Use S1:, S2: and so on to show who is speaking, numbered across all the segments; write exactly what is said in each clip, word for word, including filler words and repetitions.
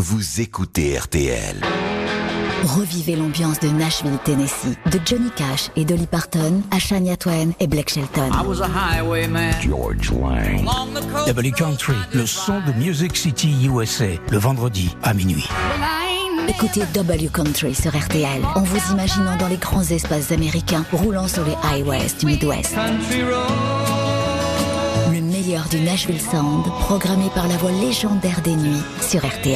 S1: vous écoutez R T L.
S2: Revivez l'ambiance de Nashville, Tennessee, de Johnny Cash et Dolly Parton à Shania Twain et Blake Shelton.
S3: I was a highwayman.
S1: George Lang.
S4: W Country, le son de Music City U S A, le vendredi à minuit.
S2: Écoutez W Country sur R T L en vous imaginant dans les grands espaces américains roulant sur les highways du Midwest. Le meilleur du Nashville Sound, programmé par la voix légendaire des nuits sur R T L.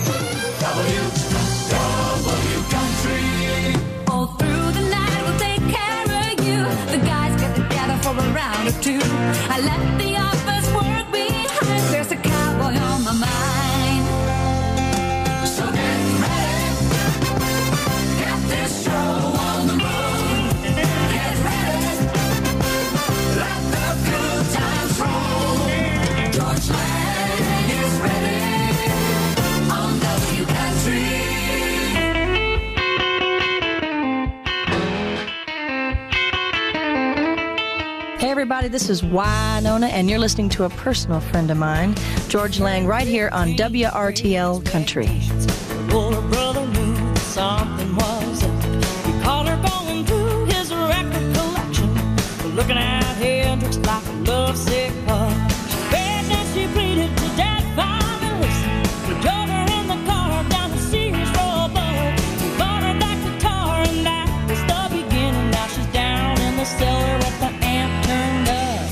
S5: Hey everybody, this is Wynonna, and you're listening to a personal friend of mine, George Lang, right here on W R T L Country.
S6: Older brother knew something was up. He caught her going through his record collection, looking at Hendrix like a lovesick pup. She begged and she pleaded to Dad finally listen. He drove her in the car down to Sears Roebuck. He bought her that guitar and that was the beginning. Now she's down in the cellar with the amp turned up.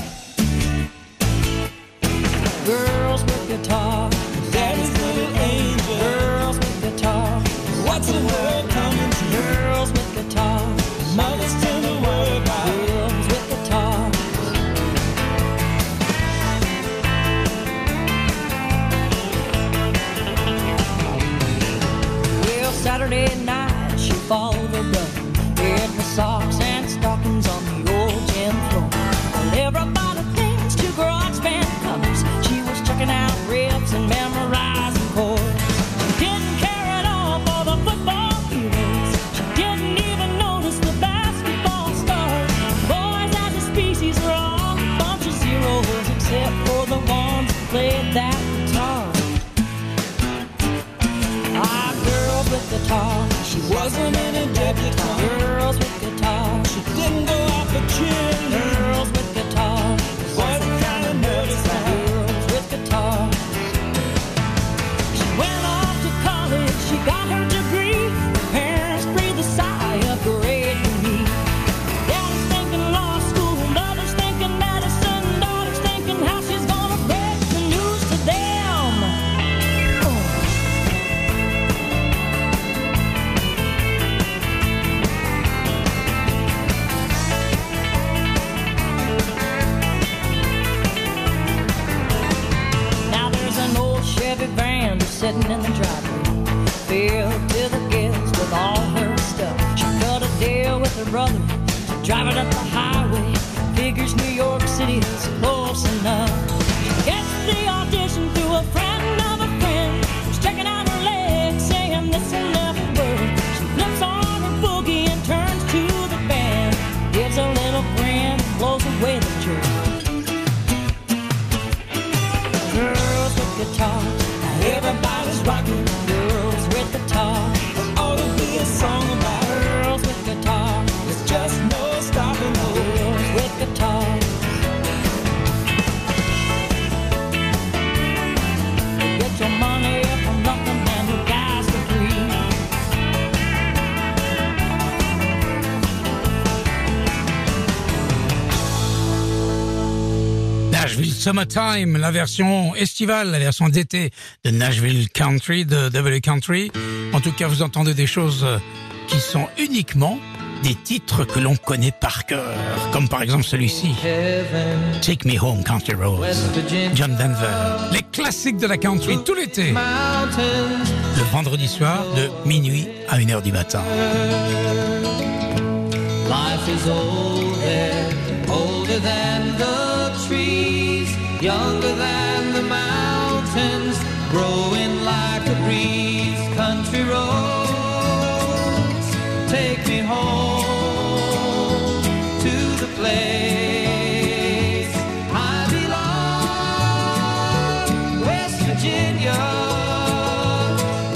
S6: Girls with guitars, daddy's little angel. Girls with guitars, what's the world coming to? Girls with guitars, mothers tell the world about. Girls with guitars. Well, Saturday night she followed her brother in the socks and stockings on the old gym floor. Well, everybody thinks two garage band covers. She was checking out riffs and memorizing chords. She didn't care at all for the football heroes. She didn't even notice the basketball stars. Boys as a species are all a bunch of zeros, except for the ones who played that guitar. Ah, girls with guitars. She wasn't in a debutante. Girls with guitars. She didn't go out for chin. Girls with guitars. What kind of nervous girls with guitars. She went off to college. She got her degree. Her parents breathed a sigh of great relief. Daddy's thinking law school. Mother's thinking medicine. Daughter's thinking how she's gonna break the news to them. Oh. Now there's an old Chevy van sitting in the driveway, filled to the gills with all her stuff. She cut a deal with her brother to drive it up the highway. Figures New York City is close enough. She gets the audition through a friend of a friend, who's checking out her legs, saying this will never work. She flips on her boogie and turns to the band, gives a little grin, blows away the jerk. Girls with guitars, now everybody's rocking. Girls with guitars, there ought to be a song about girls with guitars. There's just no stopping girls with guitars. Get your money from nothing and your guys for free.
S4: Nashville Summertime, la version estivale, la version d'été de Nashville Country, de W Country. En tout cas, vous entendez des choses qui sont uniquement des titres que l'on connaît par cœur, comme par exemple celui-ci, Take Me Home Country Roads, John Denver, les classiques de la country tout l'été, le vendredi soir de minuit à une heure du matin.
S6: Life is older, older than the trees, younger than the mountains, growing like a breeze. Country roads, take me home to the place I belong, West Virginia.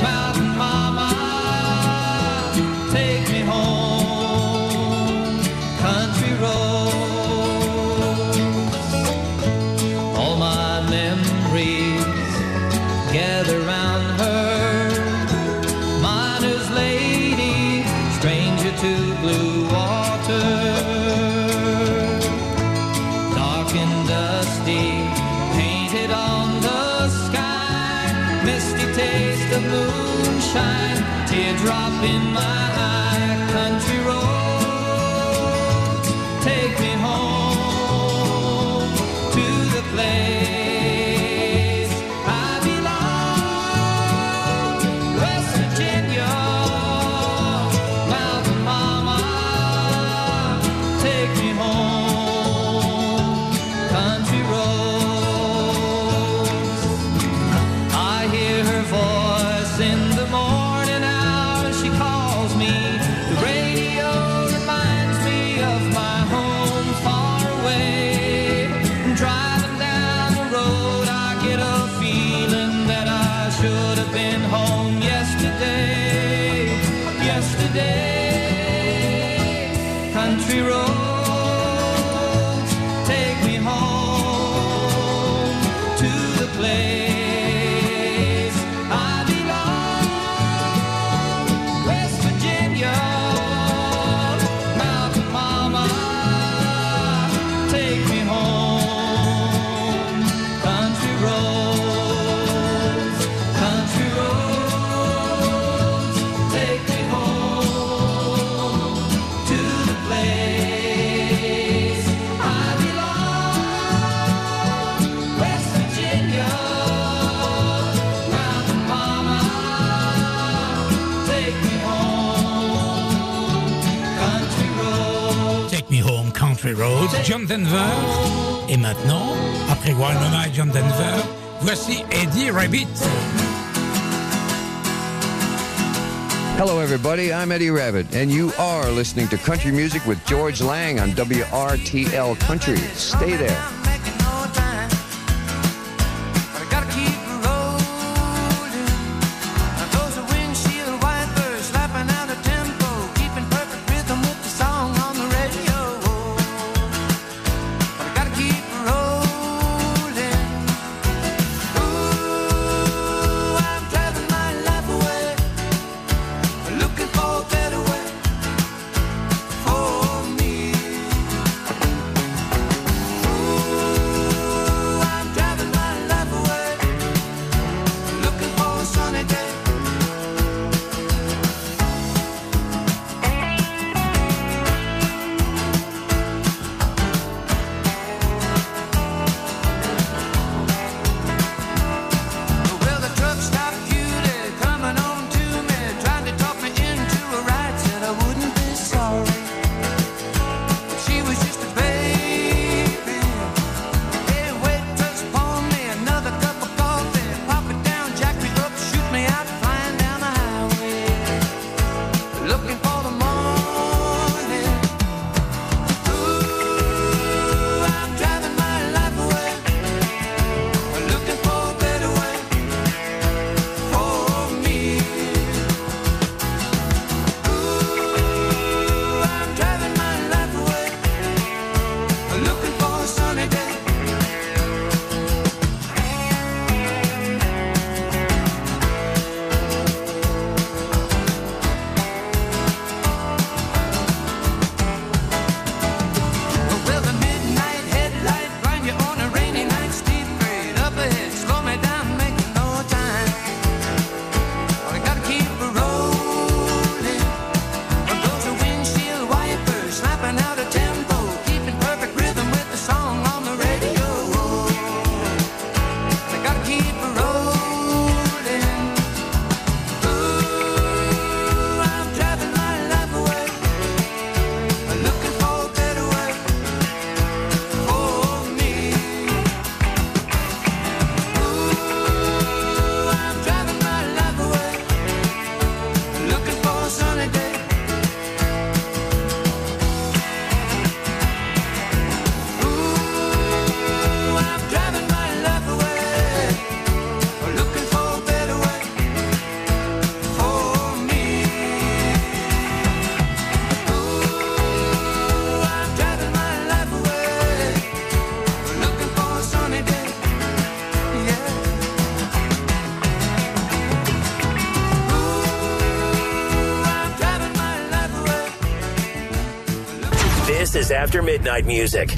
S6: the moonshine, teardrop in my eye, country road, take me home to the place I belong, West Virginia, Mountain Mama, take me home, country roads. I hear her voice in the morning hour, she calls me. The radio reminds me of my home far away. Driving down the road, I get a feeling that I should have been home yesterday. Yesterday, country roads, take me home to the place I belong, West Virginia, Mountain Mama, take me home, country roads, country roads, take me home to the place I belong, West Virginia, Mountain Mama, take me home, country roads.
S4: Take Me Home, Country Roads, John Denver. Et maintenant, après One Night John Denver, voici Eddie Rabbit.
S3: Hello, everybody. I'm Eddie Rabbit, and you are listening to Country Music with George Lang on W R T L Country. Stay there.
S6: Making no time, but I gotta keep rolling. Now those are windshield wipers slapping out a tempo, keeping perfect rhythm with the song on the radio. But I gotta keep rolling. Ooh, I'm driving my life away, looking for a better way for me. Ooh, I'm driving my life away, looking for a sunny day. Well, the truck stop cutie coming on to me, trying to talk me into a ride, said I wouldn't be sorry. She was just a baby. Hey, waitress, pour me another cup of coffee, pop it down, jack me up, shoot me out, flying down the highway, looking for the morning. Ooh, I'm driving my life away, looking for a better way for me. Ooh, I'm driving my life away, looking for a sunny day. Well, the midnight headlight grind you on a rainy night, steep grade up ahead, slow me down, making no time. But I gotta keep rolling. Well, those are windshield wipers slapping out a tempo, keeping perfect rhythm with the song on the radio. I gotta keep rolling. Ooh, I'm driving my life away, looking for a better way for me. Ooh, I'm driving my life away, looking for a sunny day. Ooh, I'm driving my life away, looking for a better way for me. Ooh, I'm driving my life away, looking for a sunny day. Yeah. Ooh, I'm driving my life away.
S7: This is After Midnight Music.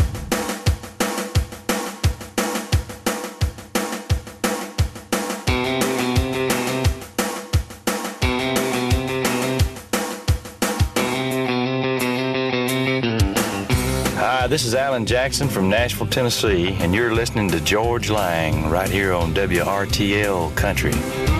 S8: this is Alan Jackson from Nashville, Tennessee, and you're listening to George Lang right here on W R T L Country.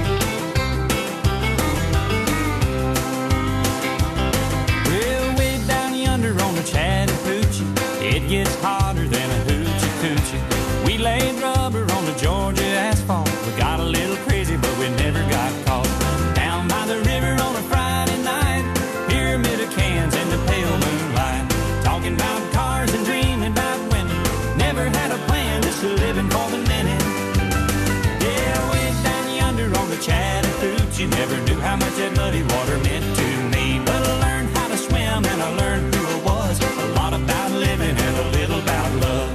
S6: Well, way down yonder on the Chattahoochee, it gets hotter than a hoochie coochie. We laid rubber on the Georgia asphalt. We got a little crazy, but we never got caught. Down by the river on a Friday night, pyramid of cans in the pale moonlight, talking about cars and dreaming about women. Never had a plan, just living for the minute. Yeah, way down yonder on the Chattahoochee, never knew how much that muddy water meant to me. But I learned how to swim and I learned who I was. A lot about living and a little about love.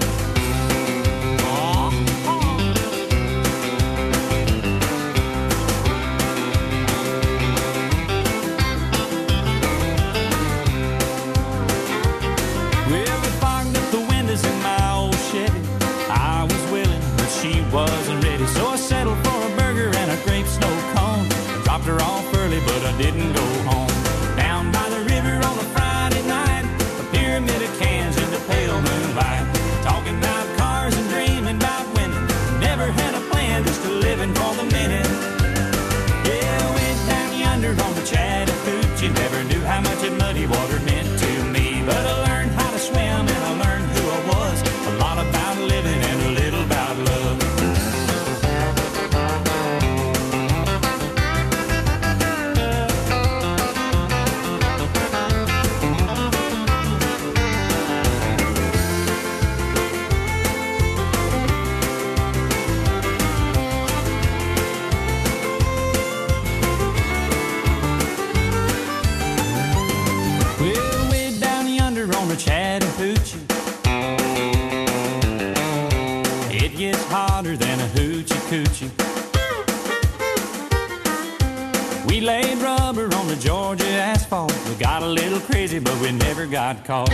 S6: Wasn't ready, so I settled for a burger and a grape snow cone. Dropped her off early, but I didn't go home. Down by the river on a Friday night, a pyramid of cans in the pale moonlight, talking about cars and dreaming about women. Never had a plan, just a living for the minute. Yeah, went down yonder on the Chattahoochee, never knew how much that muddy water meant to me. But I learned how to swim and I learned who I was. A lot about living and a little about love. Chattahoochee, it gets hotter than a hoochie coochie. We laid rubber on the Georgia asphalt. We got a little crazy, but we never got caught.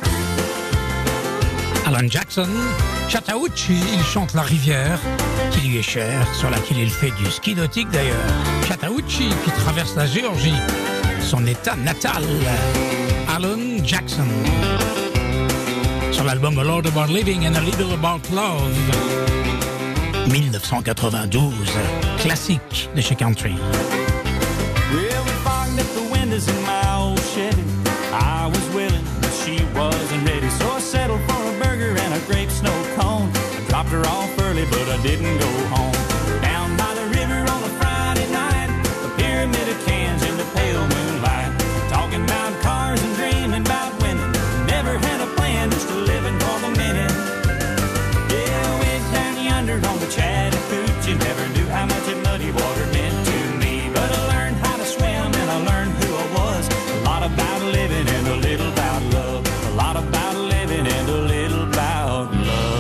S4: Alan Jackson, Chattahoochee, il chante la rivière qui lui est chère, sur laquelle il fait du ski nautique d'ailleurs. Chattahoochee qui traverse la Géorgie, son état natal. Alan Jackson. Sur l'album A Lot About Living and a Little About Love. dix-neuf cent quatre-vingt-douze, classique de chez Country.
S6: Well, we fogged up the windows in my old Chevy. I was willing, but she wasn't ready, so I settled for a burger and a grape snow cone. I dropped her off early, but I didn't go home. Down by the river on a Friday night, a pyramid of cans in the pale moonlight, talking about cars and dreaming about women. Never had a plan, just a living for the minute. Yeah, went down yonder on the Chattahoochee, never knew how much that muddy water meant to me. But I learned how to swim and I learned who I was. A lot about living and a little about love. A lot about living and a little about love.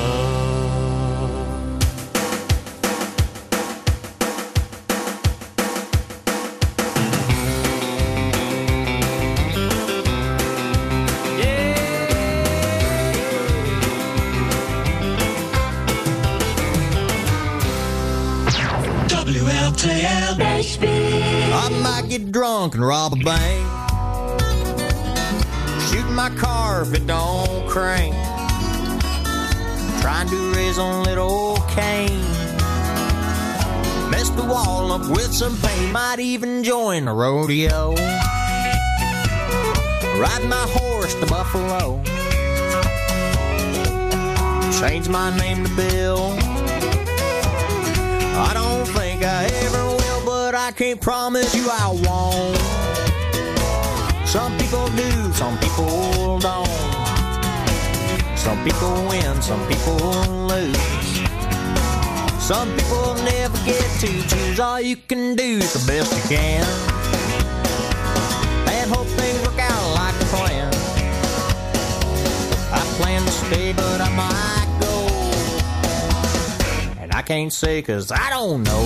S9: W L T L I might get drunk and rob a bank, shoot my car if it don't crank, trying to raise on little old Cain, mess the wall up with some paint, might even join a rodeo, ride my horse to Buffalo, change my name to Bill. I don't think I ever will, but I can't promise you I won't. Some people do, some people don't. Some people win, some people lose. Some people never get to choose. All you can do is the best you can, and hope things work out like a plan. I plan to stay, but I might go. I can't say 'cause I don't know.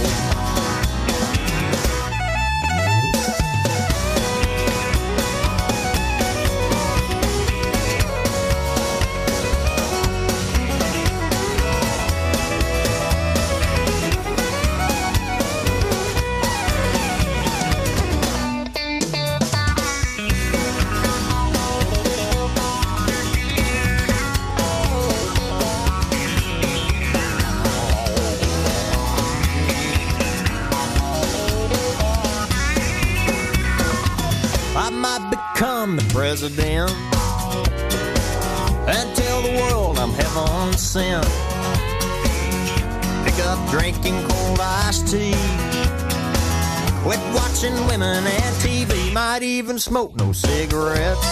S9: might become the president and tell the world I'm heaven sent. Pick up drinking cold iced tea, quit watching women and T V, might even smoke no cigarettes.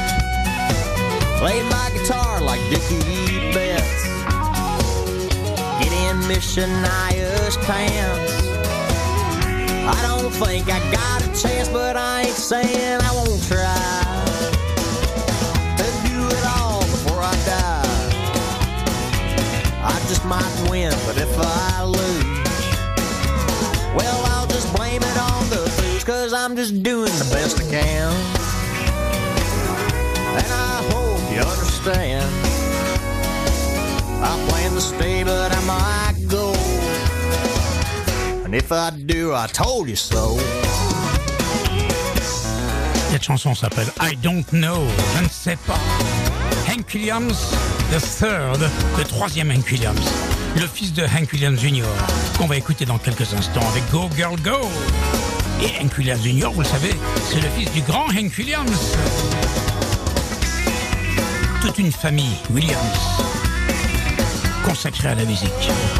S9: Play my guitar like Dickie Betts, get in Miss Shania's pants. I don't think I got a chance, but I ain't saying I won't try to do it all before I die. I just might win, but if I lose, well, I'll just blame it on the booze, 'cause I'm just doing the best I can. And I hope you understand, I plan to stay, but I might go. And if I do, I told you so.
S4: Cette chanson s'appelle I Don't Know, je ne sais pas. Hank Williams, the third, le troisième Hank Williams, le fils de Hank Williams junior, qu'on va écouter dans quelques instants avec Go Girl Go. Et Hank Williams junior, vous le savez, c'est le fils du grand Hank Williams. Toute une famille Williams consacrée à la musique.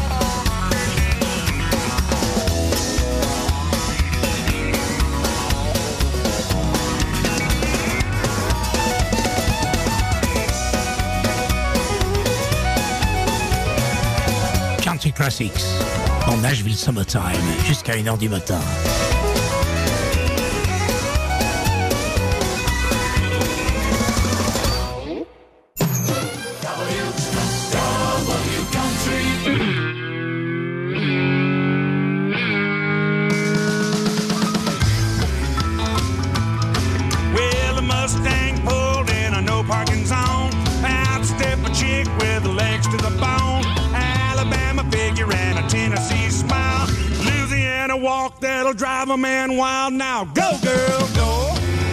S4: Country Classics dans Nashville Summertime jusqu'à une heure du matin.
S10: That'll drive a man wild now. Go, girl, go.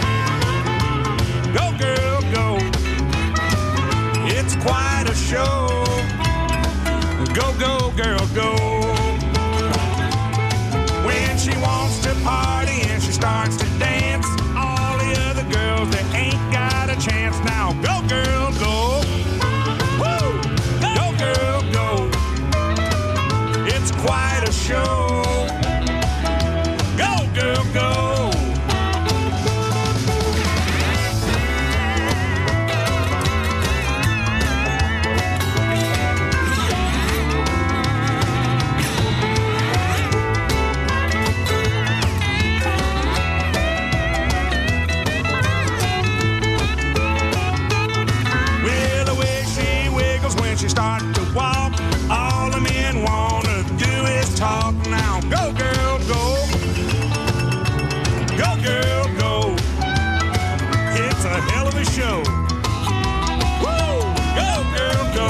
S10: Go, girl, go. It's quite a show. Go, go, girl, go. When she wants to party and she starts to dance, all the other girls, they ain't got a chance now. Go, girl, go. Woo! Go, girl, go. It's quite a show. Girl, go. Well, the way she wiggles when she starts to walk, all the men wanna do is talk now. Go, girl, go. Go, girl, go. It's a hell of a show. Woo! Go, girl, go.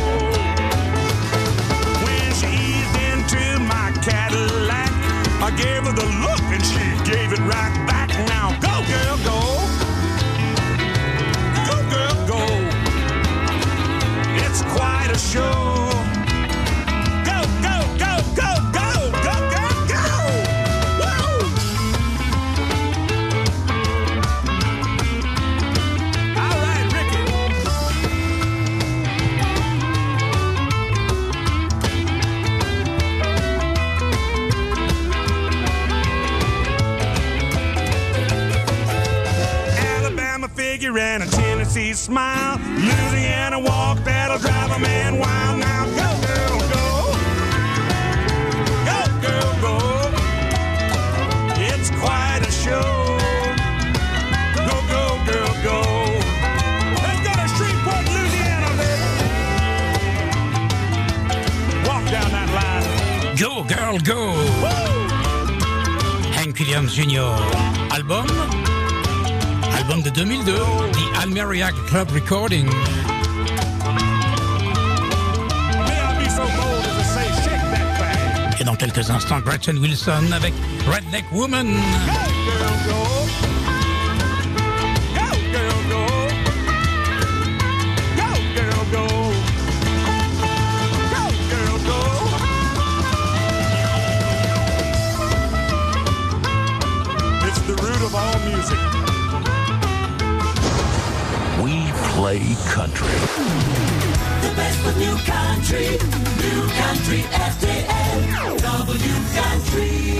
S10: When she eased into my Cadillac, I gave her the look and she gave it right back. Now, go, girl, go. Go, girl, go. It's quite a show. Go, go, go, go, go, go, go, go. Woo! And a Tennessee smile, Louisiana walk that'll drive a man wild. Now go, girl, go. Go, girl, go. It's quite a show. Go, go, girl, go. Let's go to Shreveport, Louisiana, baby. Walk down that line.
S4: Go, girl, go. Woo! Hank Williams junior Album Album de deux mille deux, The Almeriac Club Recording. Et dans quelques instants, Gretchen Wilson avec Redneck Woman.
S10: Go, girl, go. Go, girl, go. Go, girl, go. Go, girl, go. It's the root of all music.
S1: play country.
S6: The best of new country, new country R T L, W Country.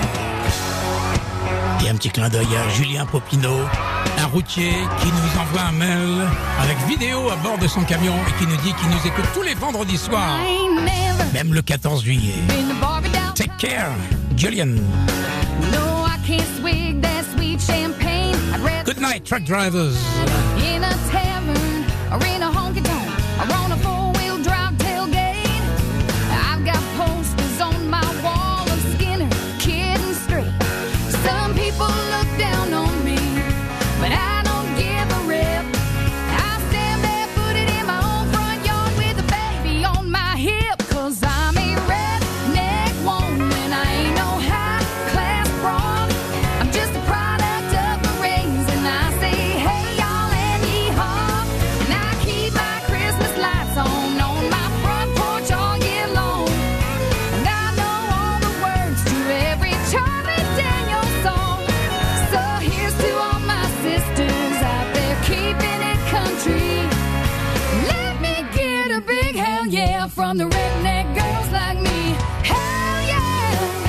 S4: Et un petit clin d'œil à Julien Popinot, un routier qui nous envoie un mail avec vidéo à bord de son camion et qui nous dit qu'il nous écoute tous les vendredis soirs, même le quatorze juillet. Take care, Julian.
S11: No, I can't swig that sweet champagne. I'd rather
S4: Good night, truck drivers.
S11: in a tavern or in a honky-tonk or on a four-wheel drive tailgate. I've got posters on my wall of Skinner, Kid and Straight. Some people look down on me, but I don't give a rip. I stand barefooted in my own front yard with a baby on my hip, 'cause I'm a redneck woman. I ain't no high-class broad. I'm just a product of my raising. And I say, hey, y'all, and yee-haw. And I keep my Christmas lights on on my front porch all year long. And I know all the words to every Charlie Daniels song. So here's to all my sisters out there keeping it country. Let me get a big hell yeah from the redneck girls like me. Hell yeah!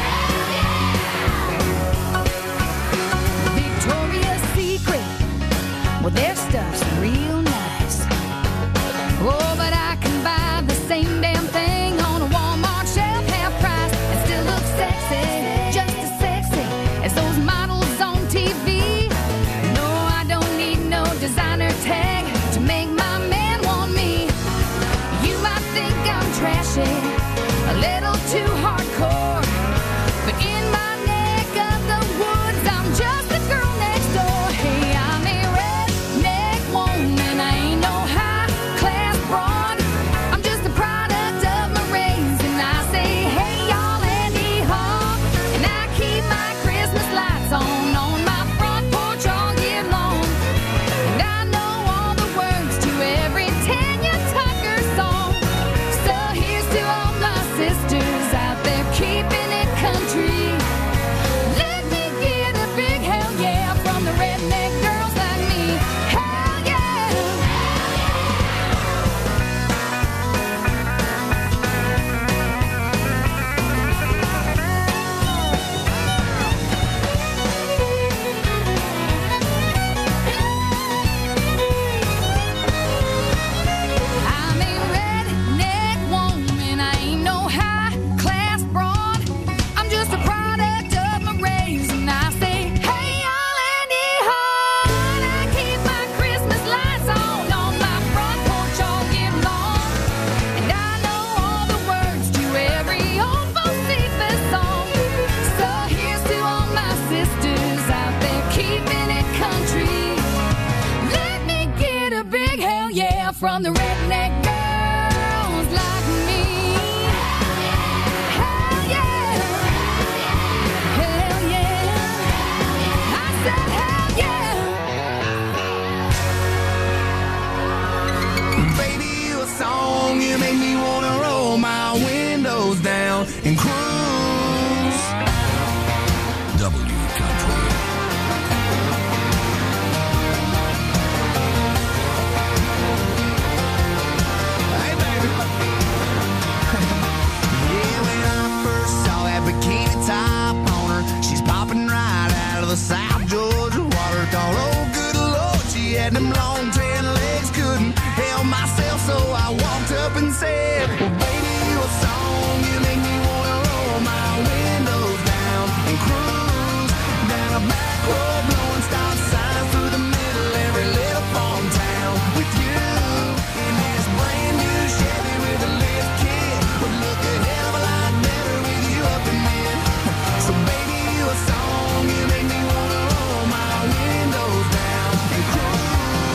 S11: Victoria's Secret, well, their stuff's real nice. Oh, but I can buy the same damn thing on a Walmart shelf, half price, and still look sexy, just as sexy as those models on T V. No, I don't need no designer tag to make my man want me. You might think I'm trashy, a little too hardcore, but in my neck of the woods, I'm just the girl next door. Hey, I'm a redneck woman. I ain't no high-class broad. I'm just a product of my raising. I say, hey, y'all, and yee-haw. And I keep my Christmas lights on on my front porch all year long. And I know all the words to every Tanya Tucker song. So here's to all my sisters out there keeping it country. Let me get a big hell yeah from the redneck girls like me. Hell yeah! I'm a redneck woman. I ain't no high-class broad. I'm just a product of my raising. I say, hey, y'all, and yee-haw. And I keep my Christmas lights on on my front porch all year long. And I know all the words to every old Josephus song. So here's to all my sisters out there keeping it country. Let me get a big hell yeah from the redneck girls like me. Hell yeah. Hell yeah. I said hell yeah.
S9: Baby, you a song, you make me wanna roll my windows down and cruise.
S1: W Country.
S9: Hey, baby. Yeah, when I first saw that bikini top on her, she's popping right out of the South Georgia water. Thought, oh, good Lord, she had them long tan legs, couldn't help myself, so I walked up and said, well, baby, you a song, you make me wanna roll my windows down and cruise down a back road, blowing stop signs through the middle every little farm town with you in this brand new Chevy with a lift kit. Would look a hell of a lot better with you up in it. So baby, you a song, you make me wanna roll my windows down and cruise.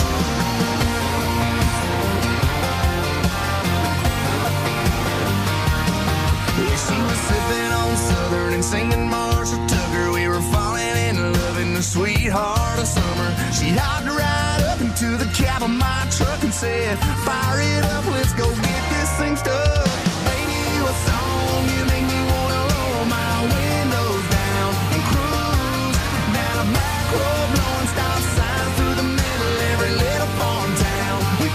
S9: Yeah, she was sipping on Southern and singing Marshall Tucker. We were falling in love in the sweetheart of summer. She hopped right up into the cab of my truck and said, fire it up, let's go get this thing stuck. Baby, you a song, you make me wanna roll my windows down and cruise down a back road, blowing stop signs through the middle every little farm town with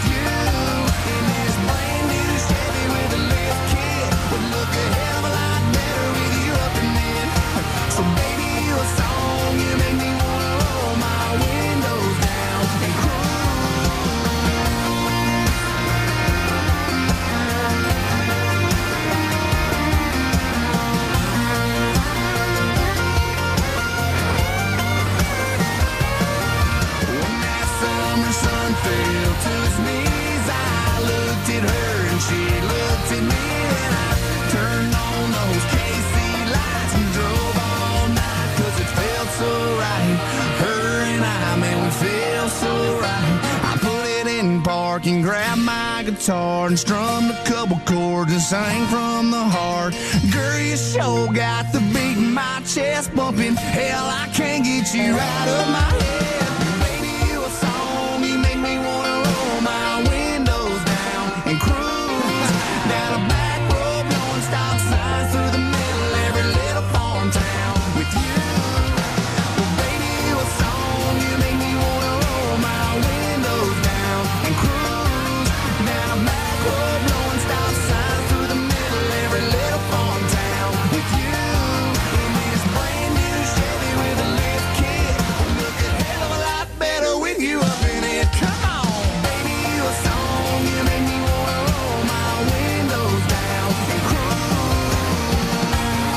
S12: can grab my guitar and strum a couple chords and sing from the heart. Girl, you sure got the beat in my chest bumping. Hell, I can't get you out of my head. Baby, you a song, you make me wanna roll my windows down and cruise down a back road, blowing stop signs through the middle of every little farm town with you. Well, baby, you a song, you make me wanna roll my windows down and cruise down a back road, blowing stop signs through the middle of every little farm town with you. In this brand new Chevy with a lift kit, look a hell of a lot better with you up in it. Come on, baby, you a song, you make me wanna roll my windows down and cruise.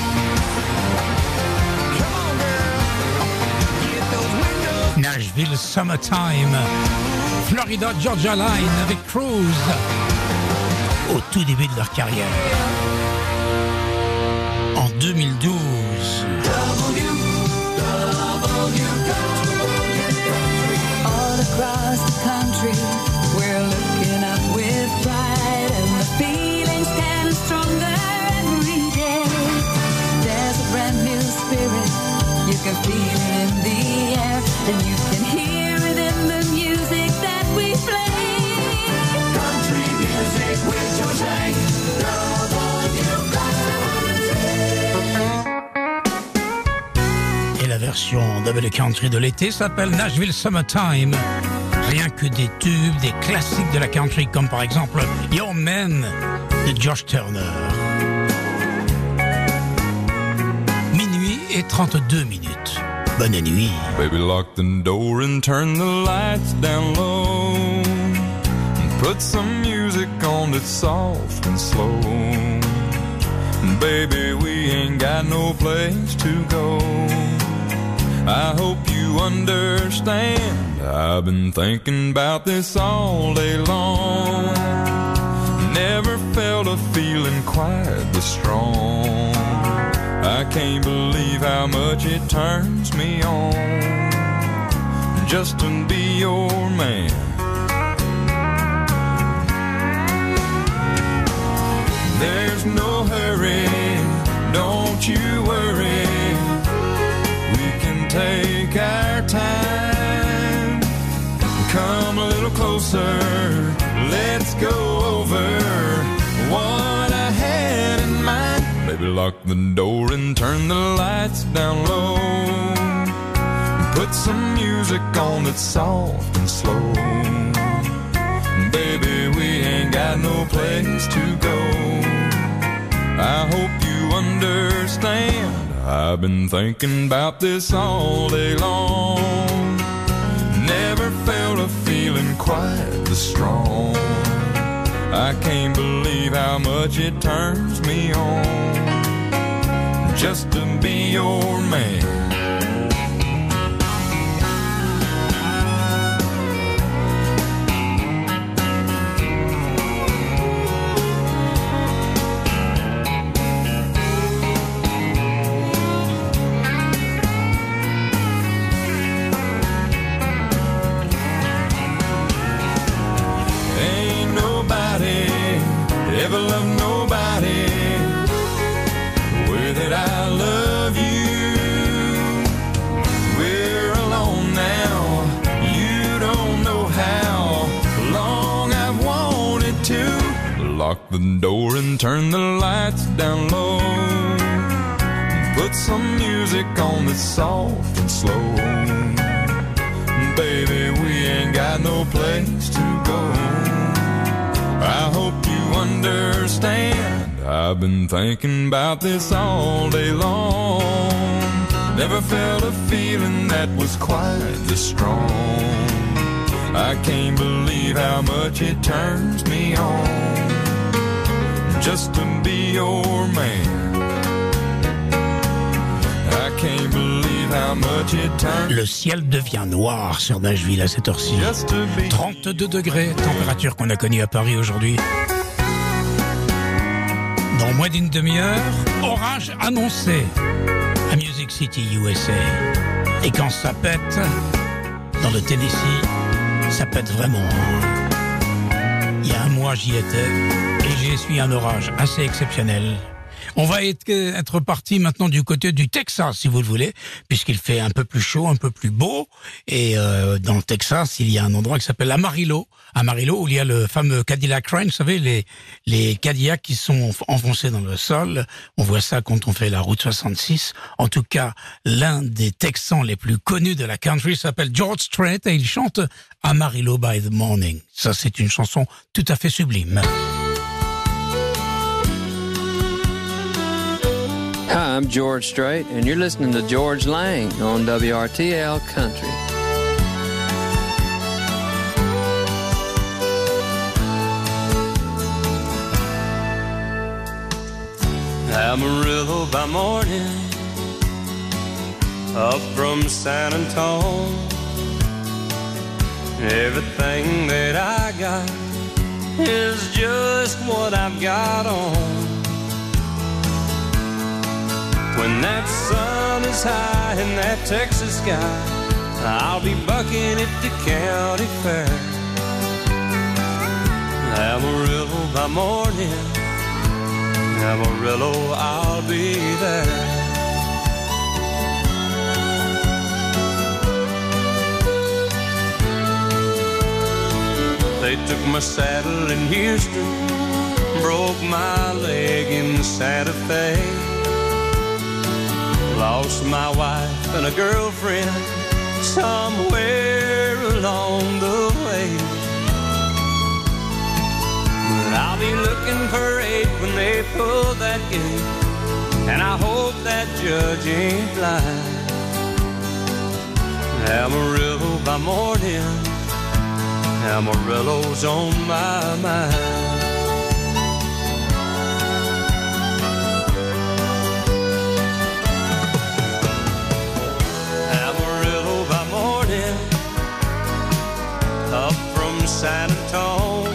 S12: Come on, girl, get those windows.
S4: Nashville Summertime, Florida Georgia Line avec Cruise au tout début de leur carrière. En deux mille douze.
S11: All across the country, we're looking up with pride, and the feeling's getting stronger every day. There's a brand new spirit, you can feel it in the air, and you can hear it in the music that we play.
S12: Country music with George Lang.
S4: Et la version double country de l'été s'appelle Nashville Summertime. Rien que des tubes, des classiques de la country, comme par exemple Your Man de George Turner. Minuit et trente-deux minutes. Bonne nuit.
S13: Baby, lock the door and turn the lights down low. And put some music on that's soft and slow. Baby, we ain't got no place to go. I hope you understand. I've been thinking about this all day long. Never felt a feeling quite this strong. I can't believe how much it turns me on just to be your man. There's no hurry, don't you worry. We can take our time. Come a little closer, let's go over what I had in mind. Baby, lock the door and turn the lights down low. Put some music on that's soft and slow. Baby, we ain't got no place to go. I hope you understand. I've been thinking about this all day long. Never felt a feeling quite this strong. I can't believe how much it turns me on just to be your man. Ever love nobody the way that I love you. We're alone now, you don't know how long I've wanted to. Lock the door and turn the lights down low. Put some music on that's soft and slow. Baby, we ain't got no place to go. I hope you understand. I've been thinking about this all day long. Never felt a feeling that was quite this strong. I can't believe how much it turns me on just to be your man. I can't believe how much it turns.
S4: Le ciel devient noir sur Nashville à cette heure-ci. trente-deux degrés, température qu'on a connue à Paris aujourd'hui. Dans moins d'une demi-heure, orage annoncé à Music City, U S A. Et quand ça pète, dans le Tennessee, ça pète vraiment. Il y a un mois, j'y étais et j'ai essuyé un orage assez exceptionnel. On va être, être parti maintenant du côté du Texas, si vous le voulez, puisqu'il fait un peu plus chaud, un peu plus beau. Et euh, dans le Texas, il y a un endroit qui s'appelle Amarillo. Amarillo, où il y a le fameux Cadillac Crane, vous savez, les, les Cadillacs qui sont enfoncés dans le sol. On voit ça quand on fait la route soixante-six. En tout cas, l'un des Texans les plus connus de la country s'appelle George Strait et il chante Amarillo by the Morning. Ça, c'est une chanson tout à fait sublime.
S14: Hi, I'm George Strait, and you're listening to George Lang on W R T L Country.
S15: Amarillo by morning, up from San Antone. Everything that I got is just what I've got on. When that sun is high in that Texas sky, I'll be bucking at the county fair. Amarillo by morning, Amarillo, I'll be there. They took my saddle in Houston, broke my leg in Santa Fe. Lost my wife and a girlfriend somewhere along the way. But I'll be looking for eight when they pull that gate, and I hope that judge ain't blind. Amarillo by morning, Amarillo's on my mind. San Antone.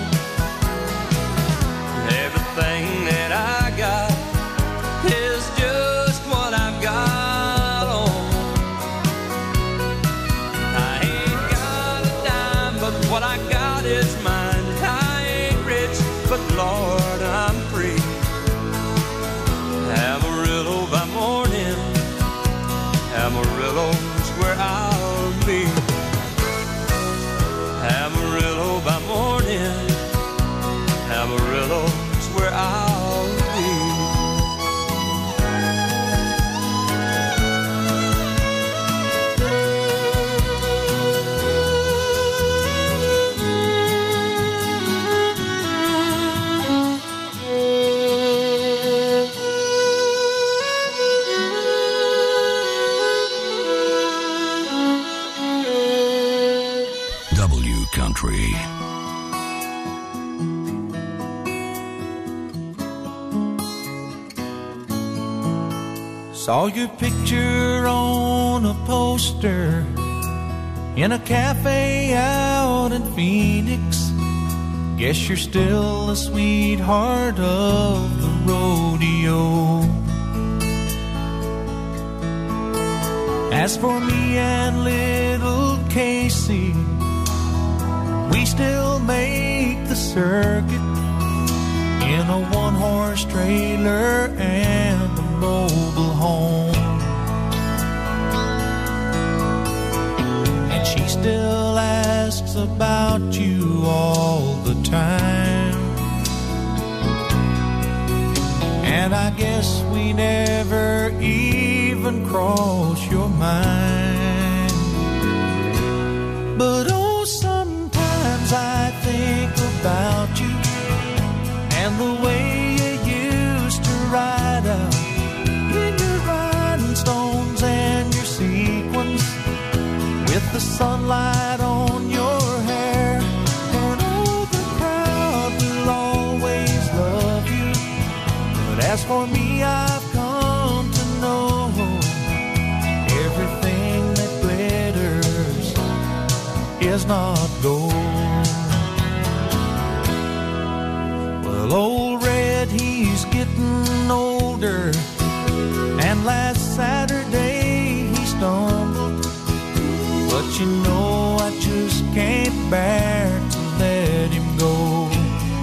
S15: Everything that I got is just what I've got on. I ain't got a dime, but what I got is mine. I ain't rich, but Lord, I'm free. Amarillo by morning, Amarillo's where I'll be. Amarillo by morning, Amarillo's where I'll be.
S1: W Country.
S16: Saw your picture on a poster in a cafe out in Phoenix. Guess you're still a sweetheart of the rodeo. As for me and little Casey, we still make the circuit in a one-horse trailer and a mobile home. And she still asks about you all the time. And I guess we never even cross your mind. But oh, sometimes I think about you and the way you used to ride out in your rhinestones and your sequins with the sunlight on your hair. And oh, the crowd will always love you. But as for me, I've come to know everything that glitters is not gold. Well, old Red, he's getting older, and last Saturday he stumbled. But you know I just can't bear to let him go.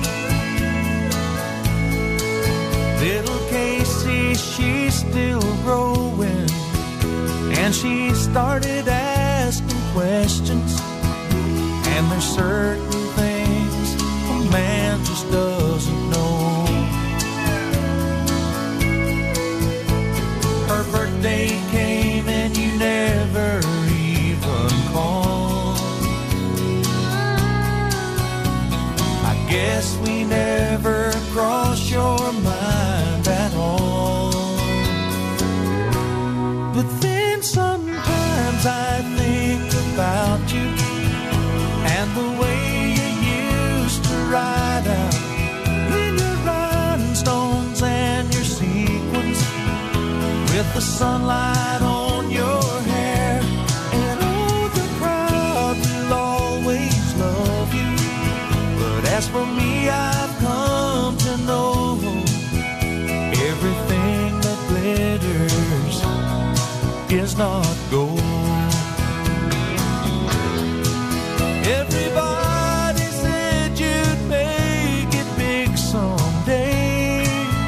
S16: she started asking questions. And there's certain things a man just doesn't know. Her birthday came and you never even called. I guess we never crossed your mind at all. But then sometimes I think about you and the way you used to ride out in your rhinestones and your sequins, with the sunlight on your hair. And oh, the crowd will always love you. But as for me, I've come to know everything that glitters is not gold. Everybody said you'd make it big someday,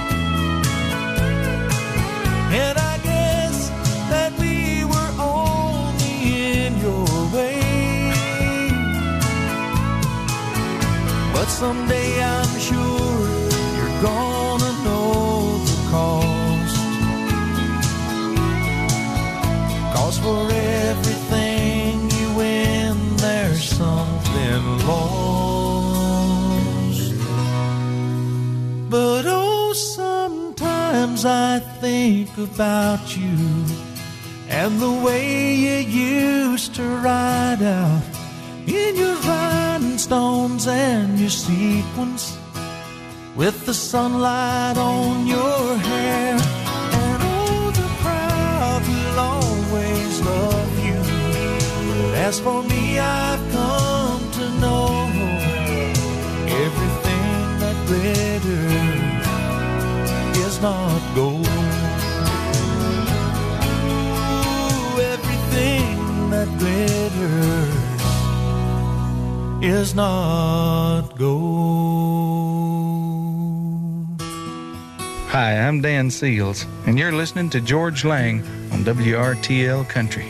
S16: and I guess that we were only in your way. But someday I'm sure you're gonna know the cost. 'Cause for everything you win, there's something lost. But oh, sometimes I think about you and the way you used to ride out in your rhinestones and your sequins, with the sunlight on your hair. And oh, the crowd will always love you. But as for me, I've come to know everything that glitters is not gold. Ooh, everything that glitters is not gold.
S17: Hi, I'm Dan Seals, and you're listening to George Lang on W R T L Country.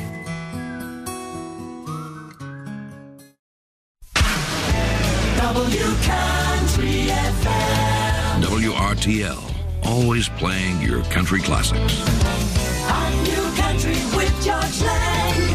S6: W Country F M.
S1: W R T L, always playing your country classics.
S6: On New Country with George Lang.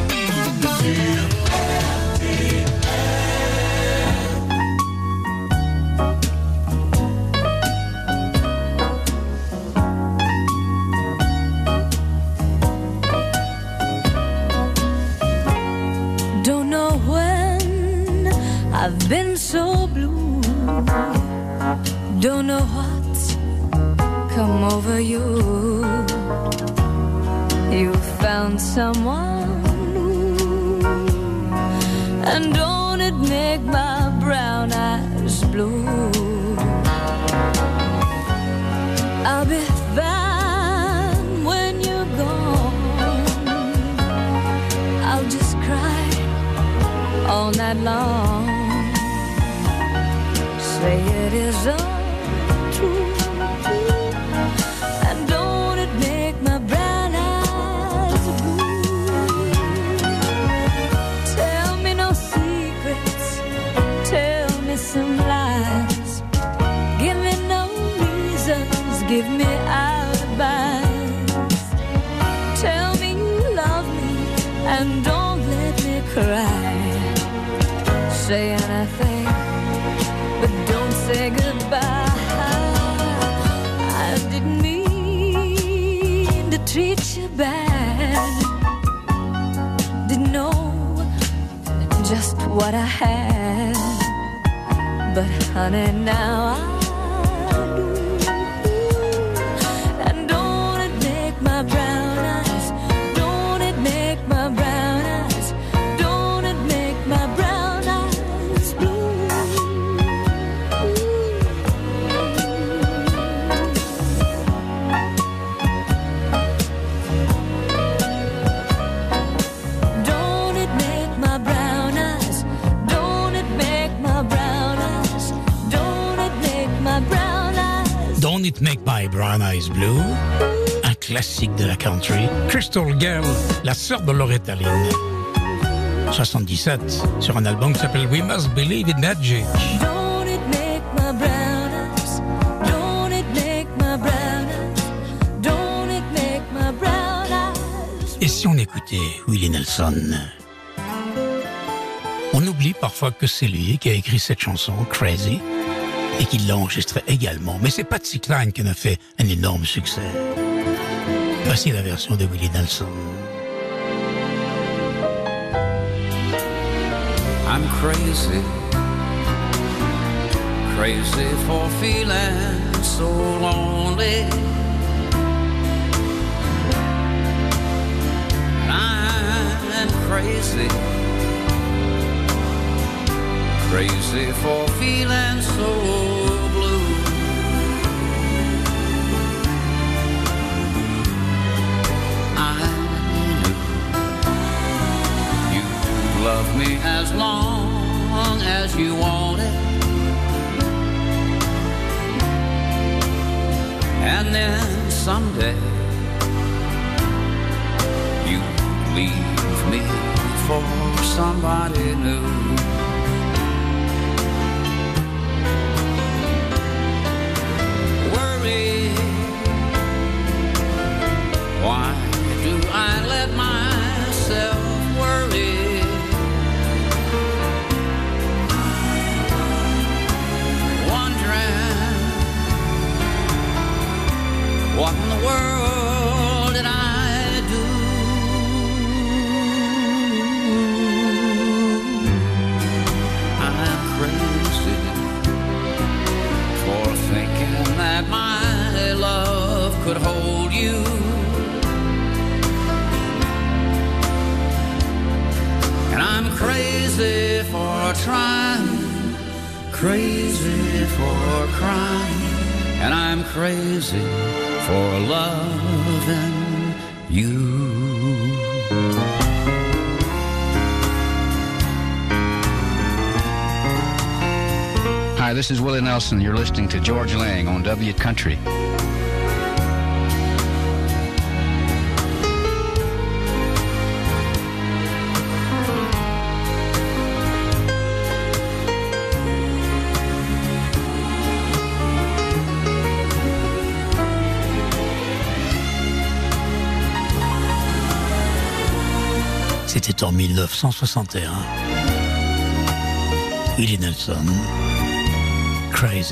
S11: Don't know when I've been so blue. Don't know what's come over you. You found someone new, and don't it make my brown eyes blue? I'll be fine when you're gone. I'll just cry all night long. Say it is untrue, and don't it make my brown eyes blue? Tell me no secrets, tell me some lies. Give me no reasons, give me alibis. Tell me you love me and don't let me cry. Say anything, but don't say goodbye. I didn't mean to treat you bad. Didn't know just what I had, but honey, now I do. And don't it make my brown eyes, don't it make my brown eyes, don't it make my brown eyes blue? Don't it make my brown eyes, don't it make my brown eyes, don't it make my brown eyes.
S4: Don't It Make My Brown Eyes Blue, un classique de la country. Crystal Girl, la sœur de Loretta Lynn. soixante-dix-sept, sur un album qui s'appelle We Must Believe in Magic.
S6: Don't it make my brown eyes? Don't it make my brown eyes? Don't it make my brown eyes?
S4: Et si on écoutait Willie Nelson? On oublie parfois que c'est lui qui a écrit cette chanson, Crazy, et qui l'a enregistrée également. Mais c'est Patsy Cline qui en a fait un énorme succès. Voici la version de Willie Nelson.
S18: I'm crazy, crazy for feeling so lonely. I'm crazy, crazy for feeling so blue. I knew you'd love me as long as you want it, and then someday you leave me for somebody new. Worry, why do I let myself worry? Wondering what in the world did I do? I'm crazy for thinking that my love could hold you. And I'm crazy for trying, crazy for crying, and I'm crazy for loving you.
S19: Hi, this is Willie Nelson. You're listening to George Lang on W Country.
S4: C'était en mille neuf cent soixante et un. Willie Nelson, Crazy.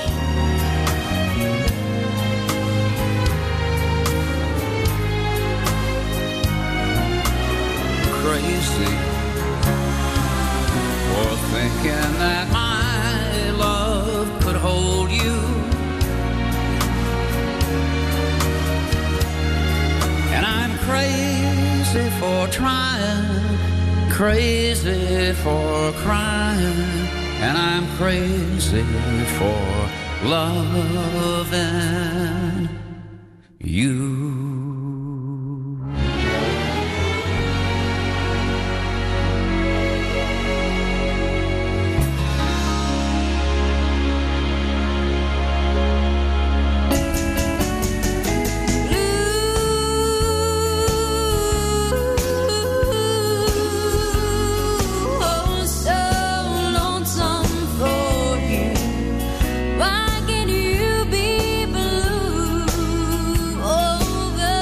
S18: Crazy for thinking that my love could hold you. And I'm crazy for trying, crazy for crying, and I'm crazy for loving you.
S6: Why can you be blue over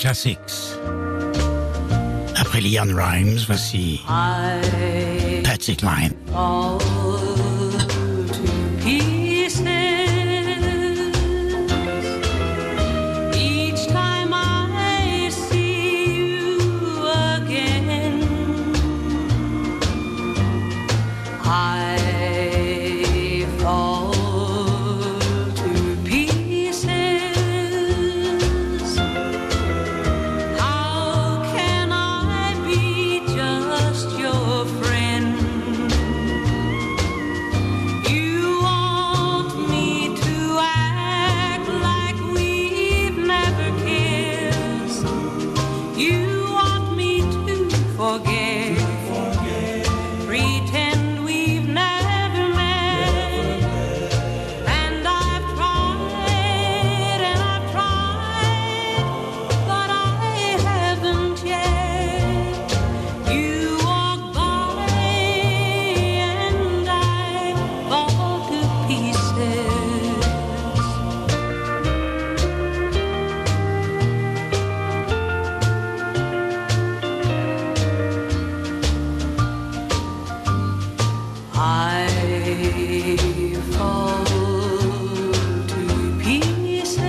S4: Classics. Après Leanne Rimes, voici Patsy Cline.
S6: Fall to pieces each time I see you again. I fall to pieces. How can I be just your friend? You want me to act like we've never kissed. You want me to forget, pretend we've never met. And I've tried and I've tried, but I haven't yet. You walk by and I fall to pieces. I fall to pieces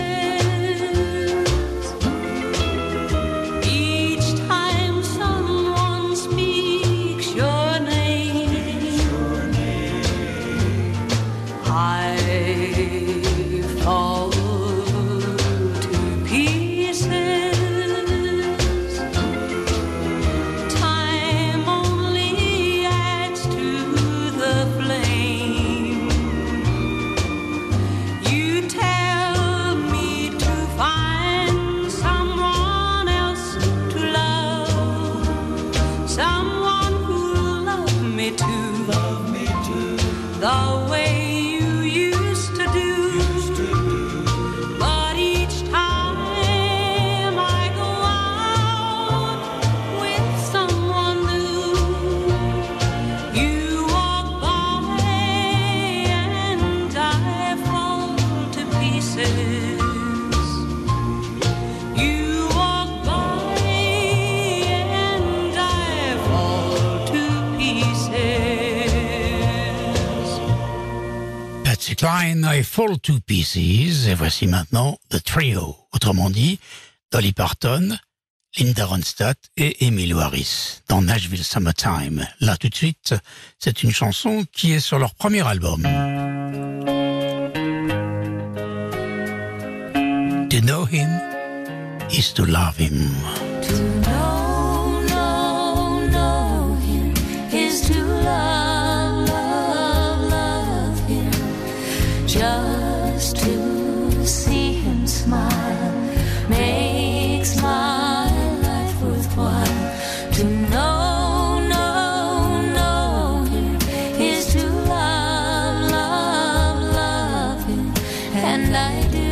S6: each time someone speaks your name. I fall to pieces. Time only adds to the flame. You tell me to find someone else to love, someone who'll love me too, love me too, the way you used to do. But each time I go out with someone new, you walk by and I fall to pieces. You walk by and I fall to pieces.
S4: Patsy Cline, I Fall to Pieces. Et voici maintenant The Trio. Autrement dit, Dolly Parton, Linda Ronstadt et Emmylou Harris dans Nashville Summertime. Là, tout de suite, c'est une chanson qui est sur leur premier album. To know him is to love him.
S6: No, no, know him is to love, love, love him. Just to see him smile makes my life worthwhile. To know, know, know him is to love, love, love him. And I do.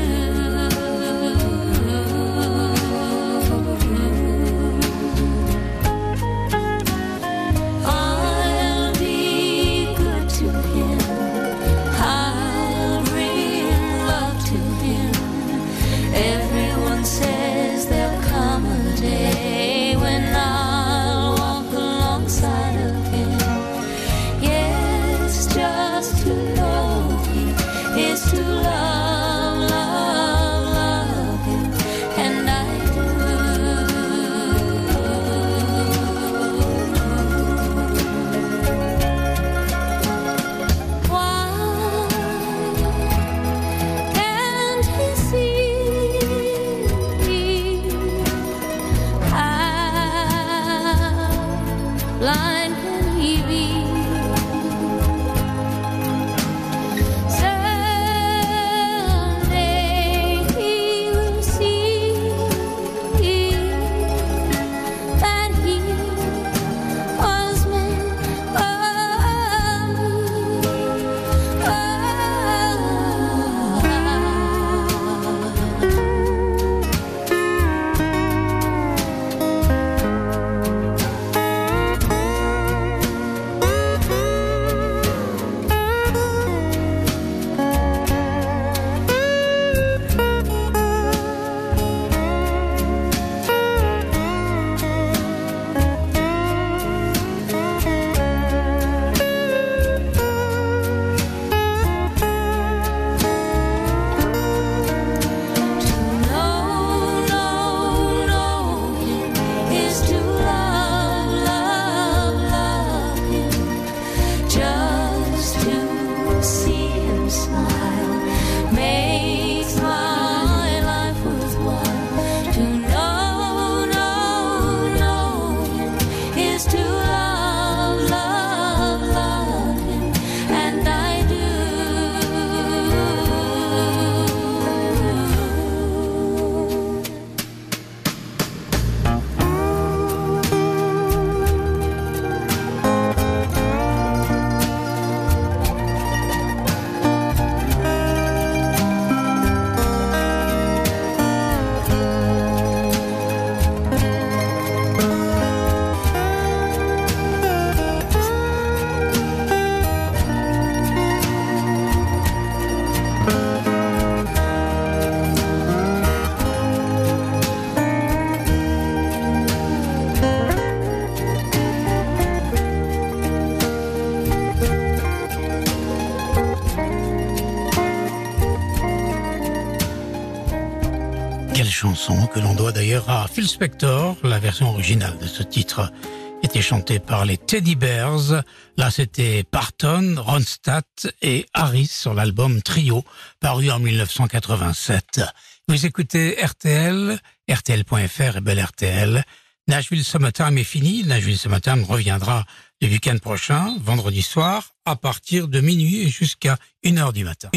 S6: I'll be good to him. I'll bring love to him. Everyone says there'll come a day when I'll walk alongside of him. Yes, just to know him is to love, love, love him. And I do. Why can't he see how blind can he be? Someday he will see that he was meant for me.
S4: chanson que l'on doit d'ailleurs à Phil Spector. La version originale de ce titre était chantée par les Teddy Bears. Là, c'était Parton, Ronstadt et Harris sur l'album Trio, paru en dix-neuf cent quatre-vingt-sept. Vous écoutez R T L, R T L point F R et Belle R T L. Nashville Summertime est fini. Nashville Summertime reviendra le week-end prochain, vendredi soir, à partir de minuit et jusqu'à une heure du matin.